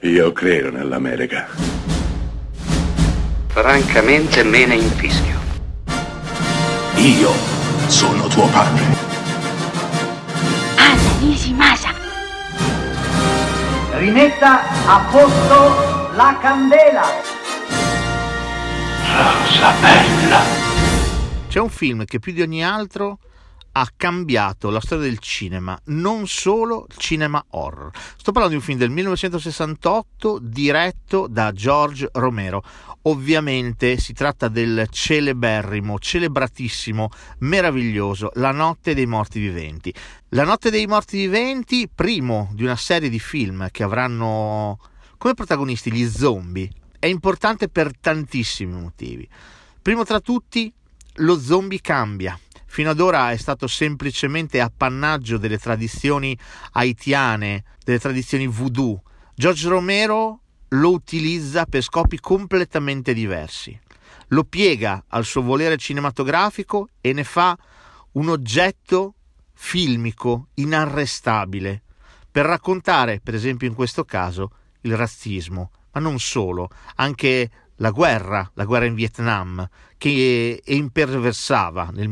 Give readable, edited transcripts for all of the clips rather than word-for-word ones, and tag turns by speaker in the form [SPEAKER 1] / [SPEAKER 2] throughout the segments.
[SPEAKER 1] Io credo nell'America.
[SPEAKER 2] Francamente me ne infischio.
[SPEAKER 1] Io sono tuo padre.
[SPEAKER 3] Anna Nishimasa.
[SPEAKER 4] Rimetta a posto la candela.
[SPEAKER 1] Rosa bella.
[SPEAKER 5] C'è un film che più di ogni altro ha cambiato la storia del cinema, non solo il cinema horror. Sto parlando di un film del 1968 diretto da George Romero. Ovviamente si tratta del celebratissimo, meraviglioso La notte dei morti viventi. La notte dei morti viventi, primo di una serie di film che avranno come protagonisti gli zombie, è importante per tantissimi motivi. Primo tra tutti, lo zombie cambia. Fino ad ora è stato semplicemente appannaggio delle tradizioni haitiane, delle tradizioni voodoo. George Romero lo utilizza per scopi completamente diversi. Lo piega al suo volere cinematografico e ne fa un oggetto filmico inarrestabile per raccontare, per esempio in questo caso, il razzismo, ma non solo, anche la guerra in Vietnam, che imperversava nel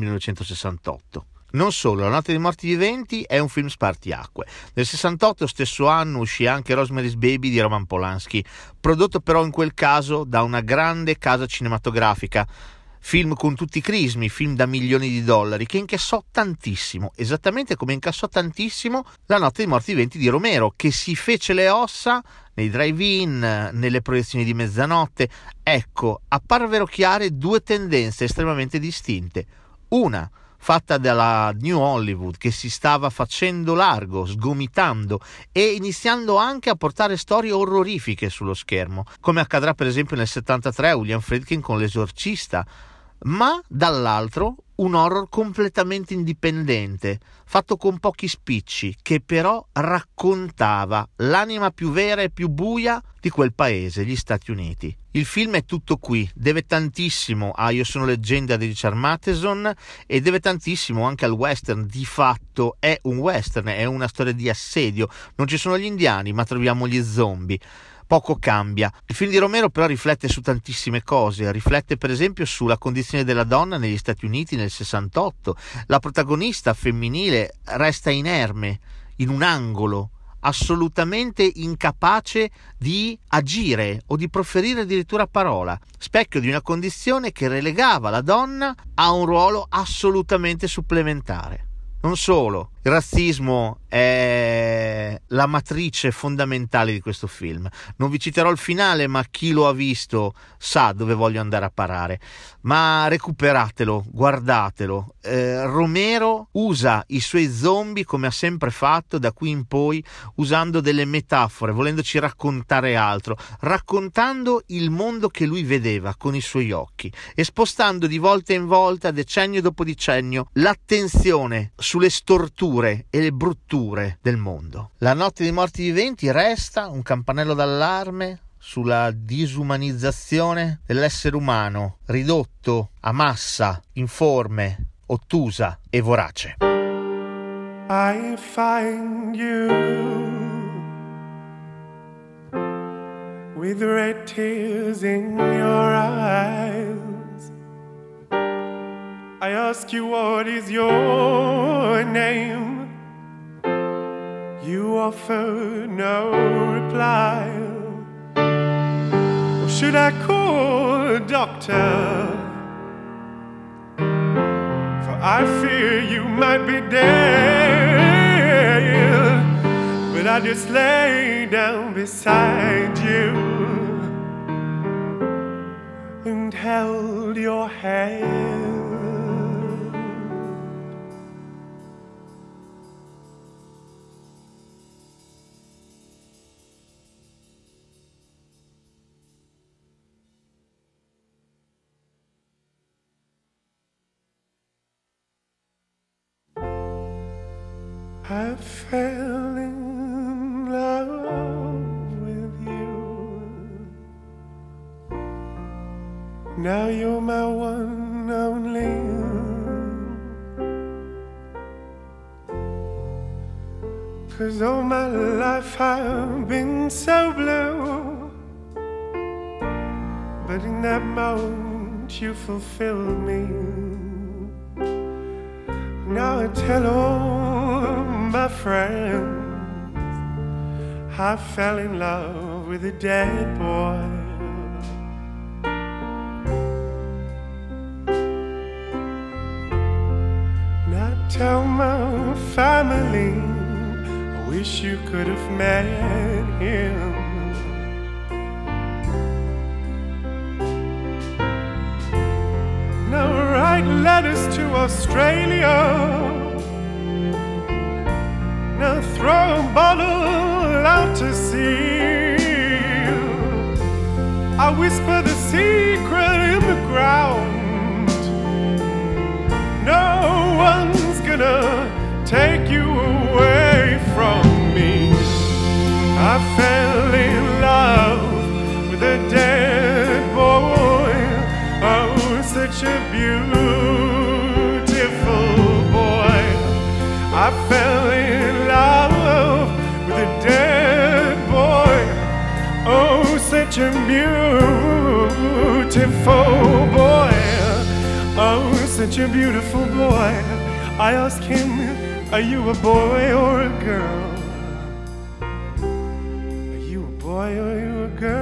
[SPEAKER 5] 1968. Non solo, La notte dei morti viventi è un film spartiacque. Nel 68, stesso anno, uscì anche Rosemary's Baby di Roman Polanski, prodotto però in quel caso da una grande casa cinematografica, film con tutti i crismi, film da milioni di dollari, che incassò tantissimo, esattamente come incassò tantissimo La notte dei morti viventi di Romero, che si fece le ossa nei drive-in, nelle proiezioni di mezzanotte. Ecco, apparvero chiare due tendenze estremamente distinte. Una fatta dalla New Hollywood, che si stava facendo largo, sgomitando e iniziando anche a portare storie orrorifiche sullo schermo, come accadrà per esempio nel 73 a William Friedkin con L'Esorcista, ma dall'altro un horror completamente indipendente, fatto con pochi spicci, che però raccontava l'anima più vera e più buia di quel paese, gli Stati Uniti. Il film è tutto qui, deve tantissimo a Io sono leggenda di Richard Matheson e deve tantissimo anche al western. Di fatto è un western, è una storia di assedio, non ci sono gli indiani ma troviamo gli zombie. Poco cambia. Il film di Romero però riflette su tantissime cose, riflette per esempio sulla condizione della donna negli Stati Uniti nel 68. La protagonista femminile resta inerme in un angolo, assolutamente incapace di agire o di proferire addirittura parola, specchio di una condizione che relegava la donna a un ruolo assolutamente supplementare. Non solo, il razzismo è la matrice fondamentale di questo film. Non vi citerò il finale, ma chi lo ha visto sa dove voglio andare a parare. Ma recuperatelo, guardatelo. Romero usa i suoi zombie come ha sempre fatto da qui in poi, usando delle metafore, volendoci raccontare altro, raccontando il mondo che lui vedeva con i suoi occhi e spostando di volta in volta, decennio dopo decennio, l'attenzione sulle storture e le brutture del mondo. La notte dei morti viventi resta un campanello d'allarme sulla disumanizzazione dell'essere umano, ridotto a massa, informe, ottusa e vorace.
[SPEAKER 6] I find you with red tears in your eyes. I ask you, what is your name? You offer no reply. Or should I call a doctor? For I fear you might be dead. But I just lay down beside you and held your hand. I fell in love with you. Now you're my one only. 'Cause all my life I've been so blue. but in that moment you fulfilled me. Now I tell all my friends I fell in love with a dead boy. Now I tell my family I wish you could have met him. Now write letters to Australia. Now throw a bottle out to sea. I whisper the secret in the ground. No one's gonna take you away from me. I fell in love with a dead boy. Oh, such a beautiful boy. I fell in love with a dead boy. Oh, such a beautiful boy. Oh, such a beautiful boy. I asked him, are you a boy or a girl? Are you a boy or are you a girl?